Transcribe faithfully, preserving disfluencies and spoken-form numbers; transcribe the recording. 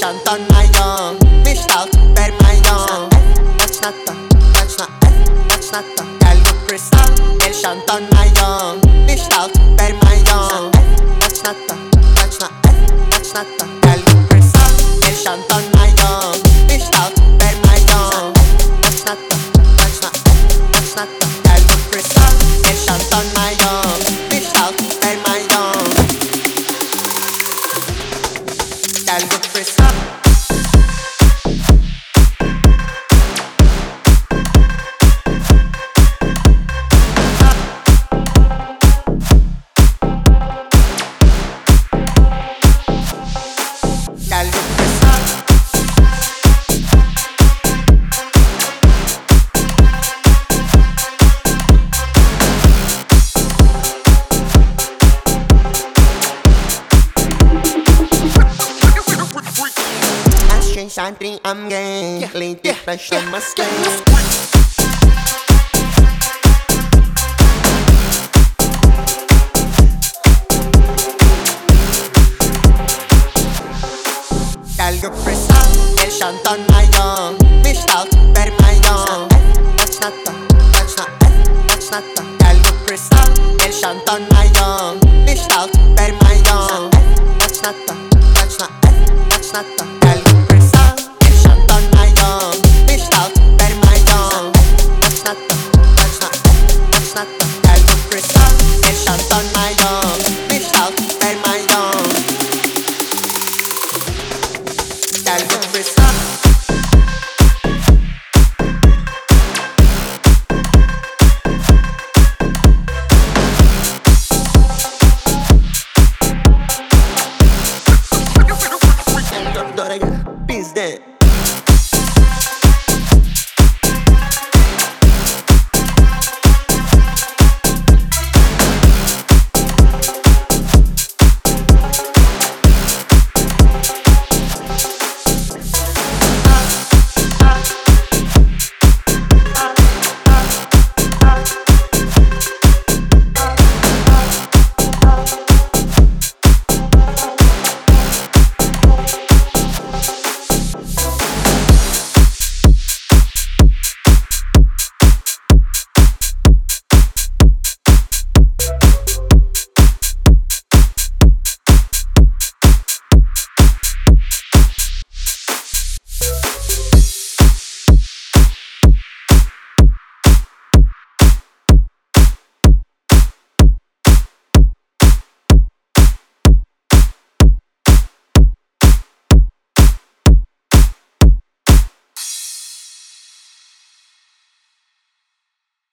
tanıyorum. Mishtal vermiyorum. Kaçnatta, kaçna, kaçnatta. Gel bu kristal, el şantanıyorum. Mishtal vermiyorum. Kaçnatta, kaçna, kaçnatta. Gel bu kristal, el şantanıyorum. Mishtal vermiyorum. Kaçnatta, kaçna, kaçnatta. Gel bu kristal, el şantanıyorum. Mishtal vermiyorum. Gel bu kristal. Something I'm gay, lady fashion must stay. Gel kristal, el şantanıyorum. Mishtal vermiyorum. Kaçnatta, kaçna, kaçnatta. Gel kristal, el şantanıyorum. Mishtal vermiyorum. Kaçnatta, kaçna, kaçnatta. Gel kristal, el şantanıyorum. Mishtal vermiyorum. Kaçnatta, kaçna, kaçnatta. Gel kristal, el şantanıyorum. Mishtal vermiyorum. Gel kristal. Bizde